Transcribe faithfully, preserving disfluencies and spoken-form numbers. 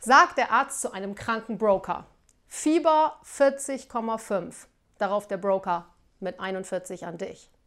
sagt der Arzt zu einem kranken Broker? Fieber vierzig Komma fünf. Darauf der Broker mit einundvierzig an dich.